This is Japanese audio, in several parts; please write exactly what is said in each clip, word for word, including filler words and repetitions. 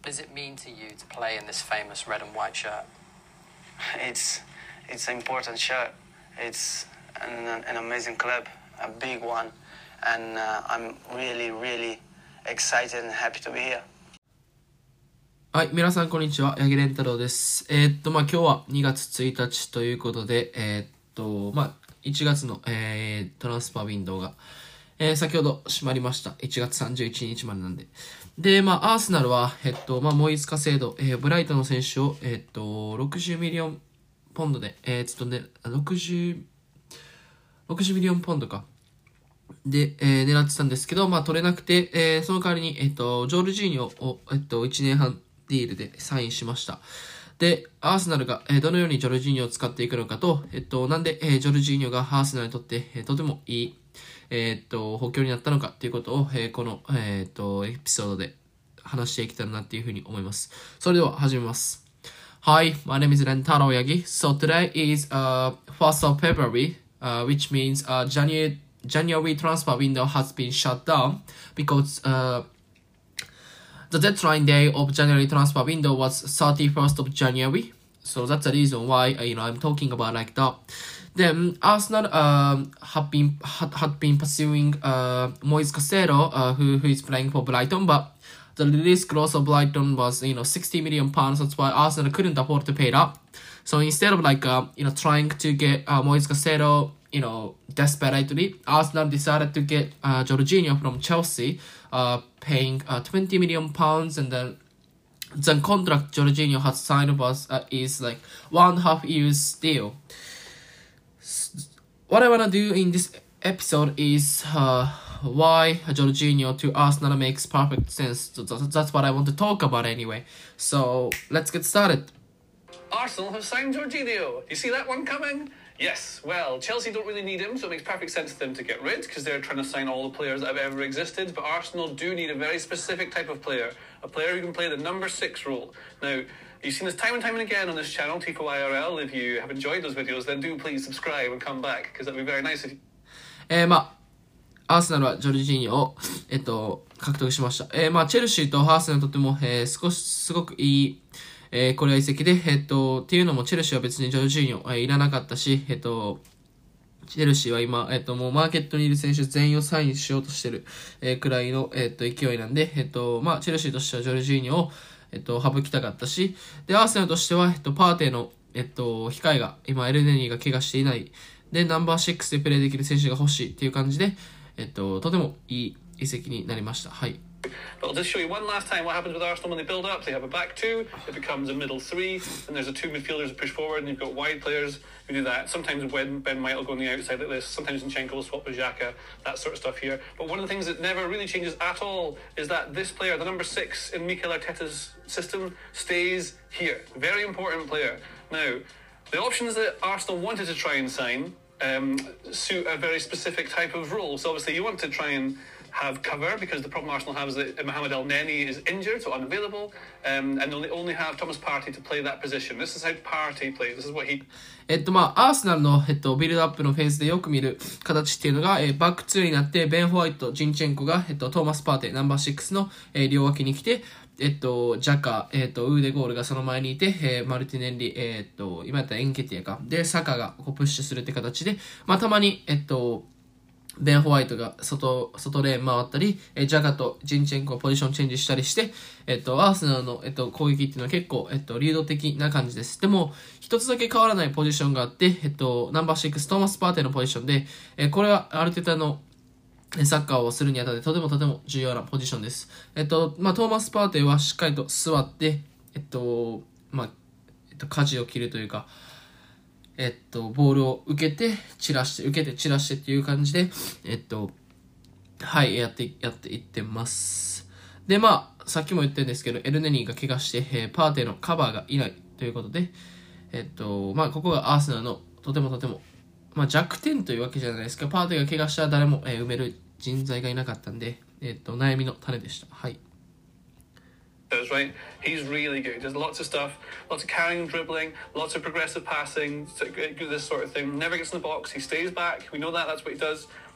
does it mean to you to play in this famous red and white shirt? It's it's an important shirt. It's an, an amazing club, a big one, and uh, I'm really, really excited and happy to be here. はい、皆さんこんにちは、八木蓮太郎です。えー、っと、まあ、今日はにがつついたちということで、えー、っと、まあ、いちがつの、えー、トランスファーウィンドウが、えー、先ほど閉まりました。いちがつさんじゅういちにちまでなんで。で、まあ、アーセナルは、えっと、まあ、モイズ・カセード、えー、ブライトンの選手を、えっと、ろくじゅうミリオンポンドで、えー、ちょっとね、60、60ミリオンポンドか。で、えー、狙ってたんですけど、まあ、取れなくて、えー、その代わりに、えっと、ジョルジーニョを、えっと、いちねんはんディールでサインしました。で、アーセナルが、えー、どのようにジョルジーニョを使っていくのかと、えっと、なんで、えー、ジョルジーニョがアーセナルにとって、えー、とてもいい、えー、っと、補強になったのかっていうことを、えー、この、えー、っと、エピソードで話していけたらなっていうふうに思います。それでは始めます。Hi, my name is Rentaro Yagi. So today is uh, first of February, uh, which means uh, January, January transfer window has been shut down because uh, the deadline day of January transfer window was thirty-first of January. So that's the reason why uh, you know I'm talking about like that. Then Arsenal um, have been had, had been pursuing uh, Moise Caicedo, uh, who who is playing for Brighton, but the release clause of Brighton was you know sixty million pounds. That's why Arsenal couldn't afford to pay that. So instead of like uh, you know trying to get uh, Moise Caicedo, you know desperately, Arsenal decided to get uh, Jorginho from Chelsea, uh, paying uh, twenty million pounds, and then the contract Jorginho has signed was uh, is like one and a half years deal. What I wanna do in this episode is uh, why Jorginho to Arsenal makes perfect sense. So that's what I want to talk about anyway. So let's get started. Arsenal have signed Jorginho. You see that one coming? Yes. Well, Chelsea don't really need him, so it makes perfect sense for them to get rid because they're trying to sign all the players that have ever existed. But Arsenal do need a very specific type of player, a player who can play the number six role. Now, you've seen this time and time and again on this channel, T F O I R L. If you have enjoyed those videos, then do please subscribe and come back because that'd be very nice if you... えー、まあ、アーセナルはジョルジーニョを、えっと、獲得しました。えー、まあ、チェルシーとアーセナルにとっても、えー、少し、すごくいい、えー、これは移籍で、えっと、っていうのもチェルシーは別にジョルジーニョ、えー、いらなかったし、えっと、チェルシーは今、えっと、もうマーケットにいる選手全員をサインしようとしてる、えー、くらいの、えっと、勢いなんで、えっと、まあ、チェルシーとしてはジョルジーニョを、えっと、省きたかったし、で、アーセナルとしては、えっと、パーテーの、えっと、控えが、今、エルネニーが怪我していない、で、ナンバーシックスでプレーできる選手が欲しいっていう感じで、えっと、とてもいい移籍になりました。はい。 But I'll just show you one last time what happens with Arsenal when they build up. They have a back two, it becomes a middle three, and there's a two midfielders who push forward, and you've got wide players who do that. Sometimes when Ben White will go on the outside like this, sometimes Zinchenko will swap with Xhaka, that sort of stuff here. But one of the things that never really changes at all is that this player, the number six in Mikel Arteta's system, stays here. Very important player. Now, the options that Arsenal wanted to try and sign um, suit a very specific type of role. So obviously you want to try and have cover because the problem Arsenal have is that Mohamed El Neni is injured, so unavailable, um, and they only have Thomas Partey to play that position. This is how Partey plays. This is what he... えっと、まあ、アーセナルの、えっと、ビルドアップのフェーズでよく見る形っていうのが、えー、バックツーになって、ベン・ホワイト、ジンチェンコが、えっと、トーマス・パーテ、ナンバーシックスの、えー、両脇に来て、えっと、ジャカ、えっと、ウーデゴールがその前にいて、えー、マルティネンリ、えー、っと、今やったらエンケティアか。で、サカがこうプッシュするって形で、まあ、たまに、えっと、ベン・ホワイトが外、外レーン回ったり、えジャガとジンチェンコをポジションチェンジしたりして、えっと、アーセナルの、えっと、攻撃っていうのは結構、えっと、流動的な感じです。でも、一つだけ変わらないポジションがあって、えっと、ナンバーシックス、トーマス・パーテのポジションで、えこれはある程度のサッカーをするにあたってとてもとても重要なポジションです。えっと、まあ、トーマス・パーテはしっかりと座って、えっと、まあ、えっと、舵を切るというか、えっと、ボールを受けて、散らして、受けて、散らしてっていう感じで、えっと、はい、やって、やっていってます。で、まあ、さっきも言ったんですけど、エルネニーが怪我して、えー、パーテのカバーがいないということで、えっと、まあ、ここがアーセナルのとてもとても、まあ、弱点というわけじゃないですか。パーテが怪我したら誰も、えー、埋める人材がいなかったんで、えっと、悩みの種でした。はい。 Right, he's really good. Does lots of stuff, lots of carrying and dribbling, lots of progressive passing, this sort of thing. Never gets in the box. He stays back. We know that. That's what he does.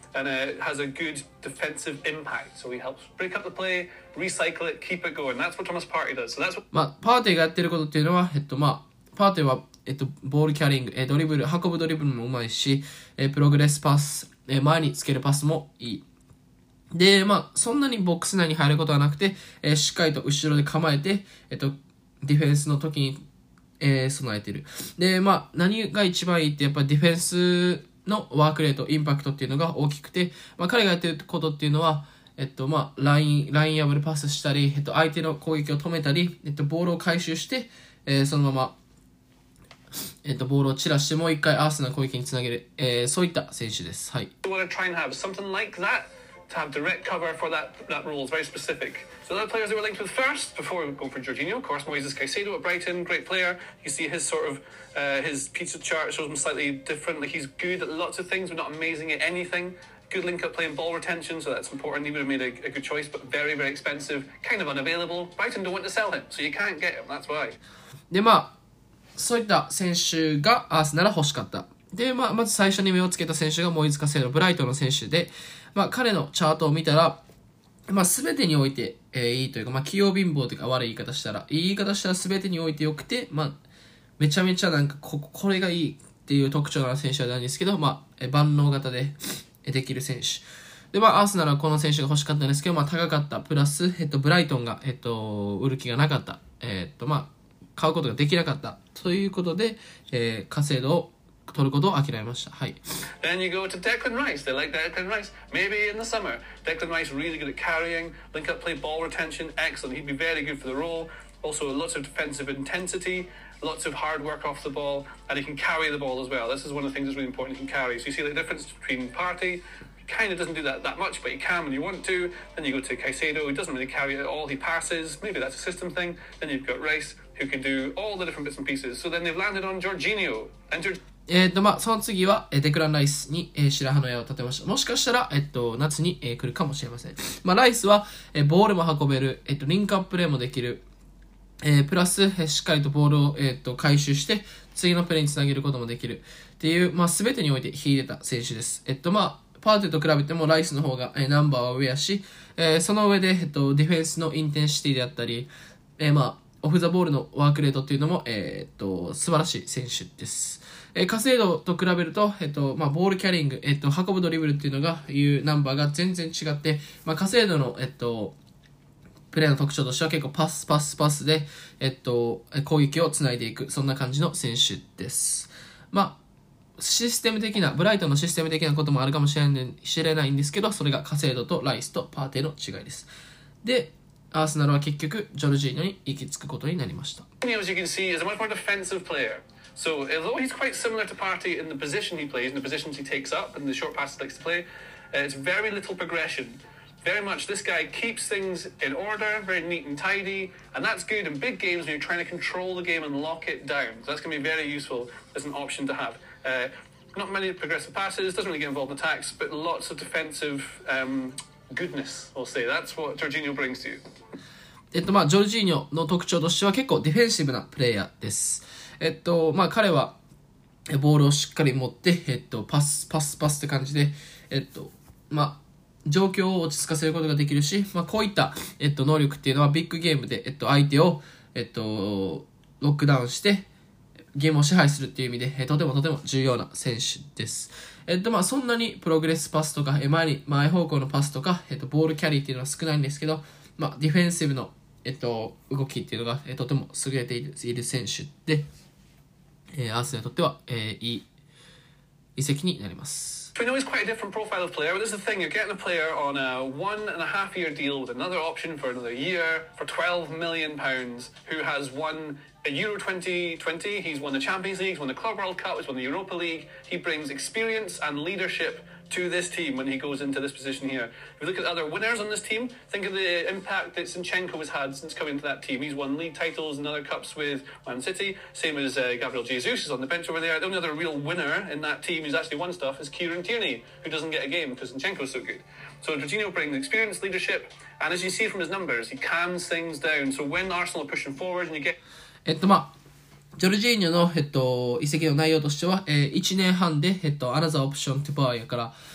and uh, has a good defensive impact. So he helps break up the play, recycle it, keep it going. That's what Thomas Partey does. So that's what... まあ、パーティーがやってることっていうのは、えっと、まあ、パーティーは、えっと、ボールキャリング、えドリブル、運ぶドリブルもうまいし、えプログレスパス、え前につけるパスもいい。で、まあ、そんなにボックス内に入ることはなくて、えしっかりと後ろで構えて、えっと、ディフェンスの時に、えー、備えている。で、まあ、何が一番いいって、やっぱりディフェンスのワークレート、インパクトっていうのが大きくて、まあ、彼がやってることっていうのは、えっと、まあ、ライン、ライン破るパスしたり、えっと、相手の攻撃を止めたり、えっと、ボールを回収して、えー、そのまま、えっと、ボールを散らして、もう一回アーセナル攻撃につなげる、えー、そういった選手です。はい。 We want to try and have something like that to have direct cover for that, that role is very specific. So the other players they were linked with first, before we go for Jorginho, of course, Moises Caicedo at Brighton, great player. You see his sort of, uh, his pizza chart shows him slightly different. Like he's good at lots of things, but not amazing at anything. Good link-up play and ball retention, so that's important. He would have made a, a good choice, but very, very expensive, kind of unavailable. Brighton don't want to sell him, so you can't get him, that's why. で、まあ、そういった選手がアーセナル欲しかった。で、まあ、まず最初に目をつけた選手がモイズ・カセイド、ブライトンの選手で、まあ、彼のチャートを見たら、まあ、すべてにおいて、えー、いいというか、まあ、器用貧乏というか悪い言い方したら、いい言い方したらすべてにおいて良くて、まあ、めちゃめちゃなんかこ、これがいいっていう特徴のある選手はないんですけど、まあ、え万能型でできる選手。で、まあ、アーセナルはこの選手が欲しかったんですけど、まあ、高かった。プラス、えっと、ブライトンが、えっと、売る気がなかった。えっと、まあ、買うことができなかった。ということで、えー、カセイドを取ることを諦めました。はい。 Then you go to Declan Rice. They like Declan Rice. Maybe in the summer. Declan Rice really good at carrying, link up play, ball retention, excellent. He'd be very good for the role. Also, lots of defensive intensity, lots of hard work off the ball, and he can carry the ball as well. This is one of the things that's really important. He can carry. So you see the difference between Partey. Kind of doesn't do that that much, but he can when you want to. Then you go to Caicedo, who doesn't really carry it at all. He passes. Maybe that's a system thing. Then you've got Rice, who can do all the different bits and pieces. So then they've landed on Jorginho. And Jorginho えっと、まあ、その次は、えデクラン・ライスに、えー、白羽の矢を立てました。もしかしたら、えっと、夏に、えー、来るかもしれません。まあ、ライスは、えー、ボールも運べる、えっと、リンクアッププレーもできる、えー、プラス、えー、しっかりとボールを、えー、っと、回収して、次のプレーにつなげることもできる。っていう、まあ、すべてにおいて秀でた選手です。えっと、まあ、パーティーと比べてもライスの方が、えー、ナンバーは上やし、えー、その上で、えっと、ディフェンスのインテンシティであったり、えー、まあ、オフザボールのワークレートっていうのも、えー、っと、素晴らしい選手です。えー、カセイドと比べると、えっと、まあ、ボールキャリング、えっと、運ぶドリブルっていうのが、いうナンバーが全然違って、まあ、カセイドの、えっと、プレーの特徴としては結構パス、パス、パスで、えっと、攻撃をつないでいく、そんな感じの選手です。まあ、システム的な、ブライトンのシステム的なこともあるかもしれない、知れないんですけど、それがカセイドとライスとパーティーの違いです。で、アーセナルは結局、ジョルジーノに行き着くことになりました。 as you can see, is a much more defensive player. So although he's quite similar to Partey in the position he plays and the positions he takes up and the short passes he likes to play, uh, it's very little progression. Very much this guy keeps things in order, very neat and tidy, and that's good in big games when you're trying to control the game and lock it down. So that's going to be very useful as an option to have. Uh, not many progressive passes, doesn't really get involved in attacks, but lots of defensive um, goodness, we'll say. That's what Jorginho brings to you. えっと、まあ、ジョルジーニョの特徴としては結構ディフェンシブなプレイヤーです。えっと、まあ、彼は、ボールをしっかり持って、えっと、パス、パス、パスって感じで、えっと、まあ、状況を落ち着かせることができるし、まあ、こういった、えっと、能力っていうのはビッグゲームで、えっと、相手を、えっと、ロックダウンして、ゲームを支配するっていう意味で、えとてもとても重要な選手です。えっと、まあ、そんなにプログレスパスとか、前に、前方向のパスとか、えっと、ボールキャリーっていうのは少ないんですけど、まあ、ディフェンシブの、えっと、動きっていうのが、えとても優れている、いる選手で、えー、アーセナルにとっては、えー、いい移籍になります。 We know he's quite a different profile of player, but this is the thing, you're getting a player on a one and a half year deal with another option for another year for twelve million pounds, who has won a Euro twenty twenty, he's won the Champions League, he's won the Club World Cup, he's won the Europa League, he brings experience and leadership to this team when he goes into this position here. If you look at the other winners on this team, think of the impact that Zinchenko has had since coming into that team. He's won league titles and other cups with Man City, same as uh, Gabriel Jesus, who's on the bench over there. The only other real winner in that team who's actually won stuff is Kieran Tierney, who doesn't get a game because Zinchenko's so good. So Jorginho brings experience, leadership, and as you see from his numbers, he calms things down. So when Arsenal are pushing forward and you get... えっと、まあ、ジョルジーニョの、えっと、移籍の内容としては、えー、いちねんはんで、えっと、アナザーオプショントゥバーやから、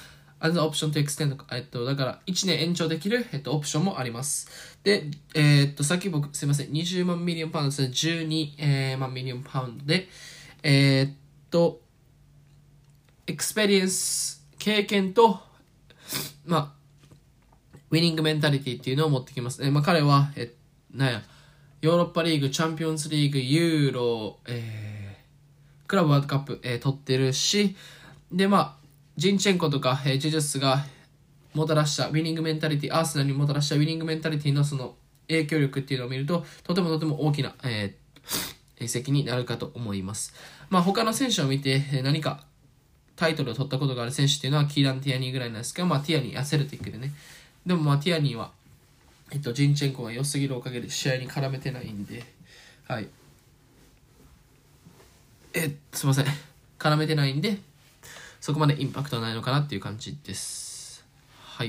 as an option to extend、えっと、だからいちねん延長できる、えっと、オプションもあります。で、えー、っと、さっき僕、すいません、にじゅうまんミリオンパウンドですね、じゅうにまんミリオンパウンドで、えー、っと、エクスペリエンス、経験と、まあ、ウィニングメンタリティっていうのを持ってきます。えー、まあ、彼は、え、なんや、ヨーロッパリーグ、チャンピオンズリーグ、ユーロ、えー、クラブワールドカップ、えー、取ってるし、で、まあ、ジンチェンコとか、えー、ジュジュスがもたらしたウィニングメンタリティ、アーセナルにもたらしたウィニングメンタリティのその影響力っていうのを見ると、とてもとても大きな、えー、責になるかと思います。まあ、他の選手を見て、えー、何かタイトルを取ったことがある選手っていうのは、キーラン・ティアニーぐらいなんですけど、まあ、ティアニー、アセルティックでね。でも、まあ、ティアニーは、えっと、ジンチェンコが良すぎるおかげで試合に絡めてないんで、はい。え、すいません。絡めてないんで、そこまでインパクトはないのかなっていう感じです。はい。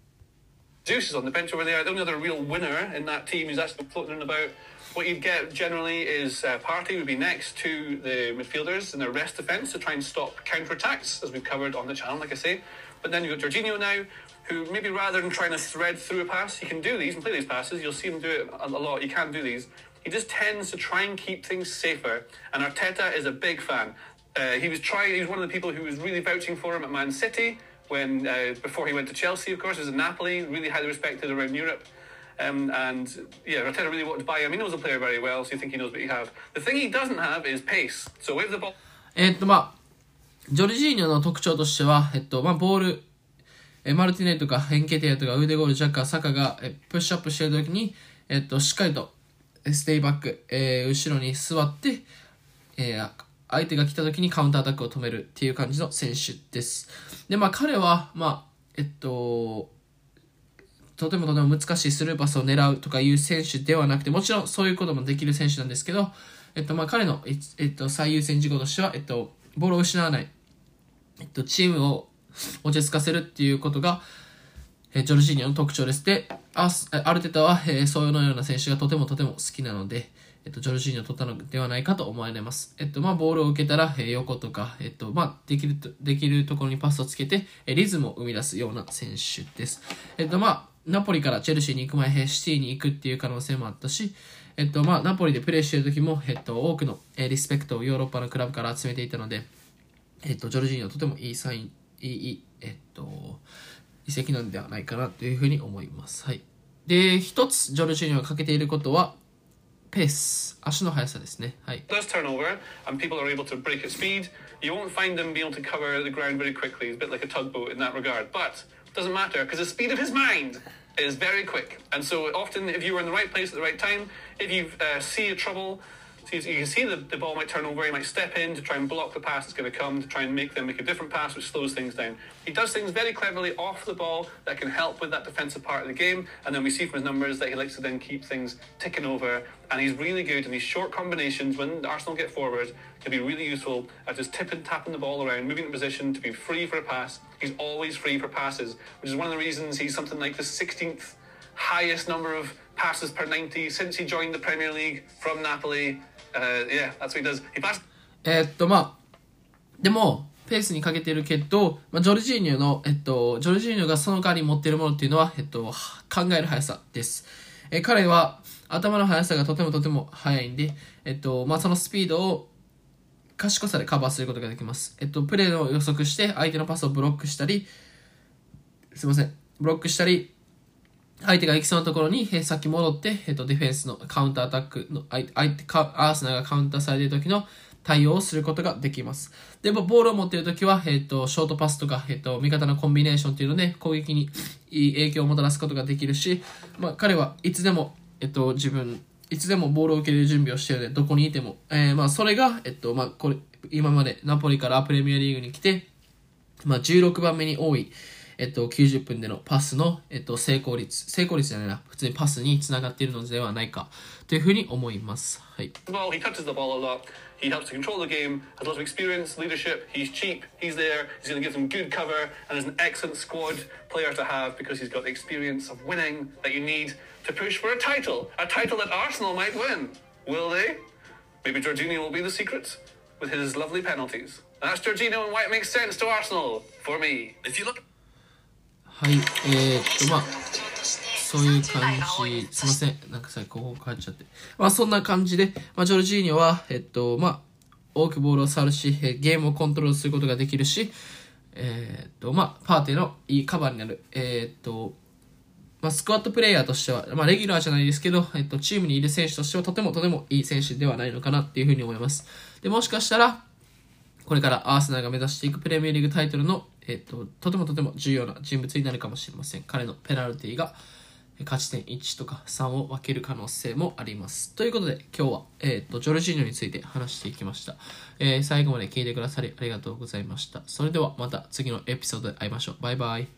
Juice is on the bench over there. The only other real winner in that team is actually floating about. What you'd get generally is uh, Partey would be next to the midfielders in their rest defence to try and stop counter-attacks, as we've covered on the channel, like I say. But then you've got Jorginho now, who maybe rather than trying to thread through a pass, he can do these and play these passes. You'll see him do it a lot. He can do these. He just tends to try and keep things safer. And Arteta is a big fan. Uh, he was trying. He was one of the people who was really vouching for him at Man City when uh, before he went to Chelsea. Of course, he was at Napoli, really highly respected around Europe. Um, and yeah, Arteta really wanted to buy him. He knows the player very well, so you think he knows what you have. The thing he doesn't have is pace. So with the ball. えっとまあジョルジーニョの特徴としては、えっとまあボール、えマルティネットかヘンケティアとかウデゴール、ジャッカー、サカがえプッシュアップしているときに、えっとしっかりとステイバック、えー、後ろに座って、えー、相手が来たときにカウンターアタックを止めるっていう感じの選手です。でまあ彼はまあえっととてもとても難しいスルーパスを狙うとかいう選手ではなくて、もちろんそういうこともできる選手なんですけど、えっとまあ彼の、えっと、最優先事項としては、えっと、ボールを失わない、えっと、チームを落ち着かせるっていうことが、えジョルジーニョの特徴です。で、アアルテタは、えー、そういうような選手がとてもとても好きなので、えっと、ジョルジーニョを取ったのではないかと思われます。えっと、まあ、ボールを受けたら、えー、横とか、えっと、まあ、できると、できるところにパスをつけて、えー、リズムを生み出すような選手です。えっと、まあ、ナポリからチェルシーに行く前、シティに行くっていう可能性もあったし、えっと、まあ、ナポリでプレーしている時も、えっと、多くの、えー、リスペクトをヨーロッパのクラブから集めていたので、えっと、ジョルジーニョはとてもいいサイン、いい、えっと、移籍なんではないかなというふうに思います。はい。で、一つ、ジョルジーニョが欠けていることは、ペース、足の速さですね。はい。 Does turn over and people are able to break at speed. You won't find them being able to cover the ground very quickly. He's a bit like a tugboat in that regard. But it doesn't matter because the speed of his mind is very quick. And so often, if you were in the right place at the right time, if you uh, see a trouble, so you can see the, the ball might turn over, he might step in to try and block the pass that's going to come, to try and make them make a different pass, which slows things down. He does things very cleverly off the ball that can help with that defensive part of the game, and then we see from his numbers that he likes to then keep things ticking over, and he's really good in these short combinations. When Arsenal get forward, he'll be really useful at just tipping, tapping the ball around, moving in position to be free for a pass. He's always free for passes, which is one of the reasons he's something like the sixteenth highest number of passes per ninety since he joined the Premier League from Napoli.Uh, yeah, that's what he does. He passed. えっと、まあ、でも、ペースにかけてるけど、まあ、ジョルジーニョの、えっと、ジョルジーニョがその代わりに持っているものっていうのは、えっと、考える速さです。え、彼は、頭の速さがとてもとても速いんで、えっと、まあ、そのスピードを、賢さでカバーすることができます。えっと、プレーを予測して、相手のパスをブロックしたり、すいません、ブロックしたり、相手が行きそうなところに、えー、先戻って、えーと、ディフェンスのカウンターアタックの、相手、アーセナルがカウンターされている時の対応をすることができます。でも、ボールを持っている時は、えっと、ショートパスとか、えっと、味方のコンビネーションっていうので、攻撃にいい影響をもたらすことができるし、まあ、彼はいつでも、えっと、自分、いつでもボールを受ける準備をしているので、どこにいても、えー、まあ、それが、えっと、まあ、これ、今までナポリからプレミアリーグに来て、まあ、じゅうろくばんめに多い、えっと、きゅうじゅっぷんでのパスの、えっと、成功率、成功率じゃないな、普通にパスにつながっているのではないかというふうに思います。はい。 Well, he touches the ball a lot. He helps to control the game, has lots of experience, leadership. He's cheap. He's there. He's going to give them good cover, and is an excellent squad player to have because he's got the experience of winning that you need to push for a title, a title that Arsenal might win. Will they? Maybe Jorginho will be the secret with his lovely penalties. That's Jorginho and why it makes sense to Arsenal for me. If you look. はい、えー、っと、まあ、そういう感じ、すいません、なんかさ、ここ変わっちゃって。まあ、そんな感じで、まあ、ジョルジーニョは、えっと、まあ、多くボールを触るし、ゲームをコントロールすることができるし、えー、っと、まあ、パーティーのいいカバーになる。えー、っと、まあ、スクワットプレイヤーとしては、まあ、レギュラーじゃないですけど、えっと、チームにいる選手としてはとてもとてもいい選手ではないのかなっていうふうに思います。で、もしかしたら、これからアーセナルが目指していくプレミアリーグタイトルの、えっと、とてもとても重要な人物になるかもしれません。彼のペナルティが勝ち点いちとかさんを分ける可能性もあります。ということで、今日は、えっと、ジョルジーニョについて話していきました。えー、最後まで聞いてくださりありがとうございました。それではまた次のエピソードで会いましょう。バイバイ。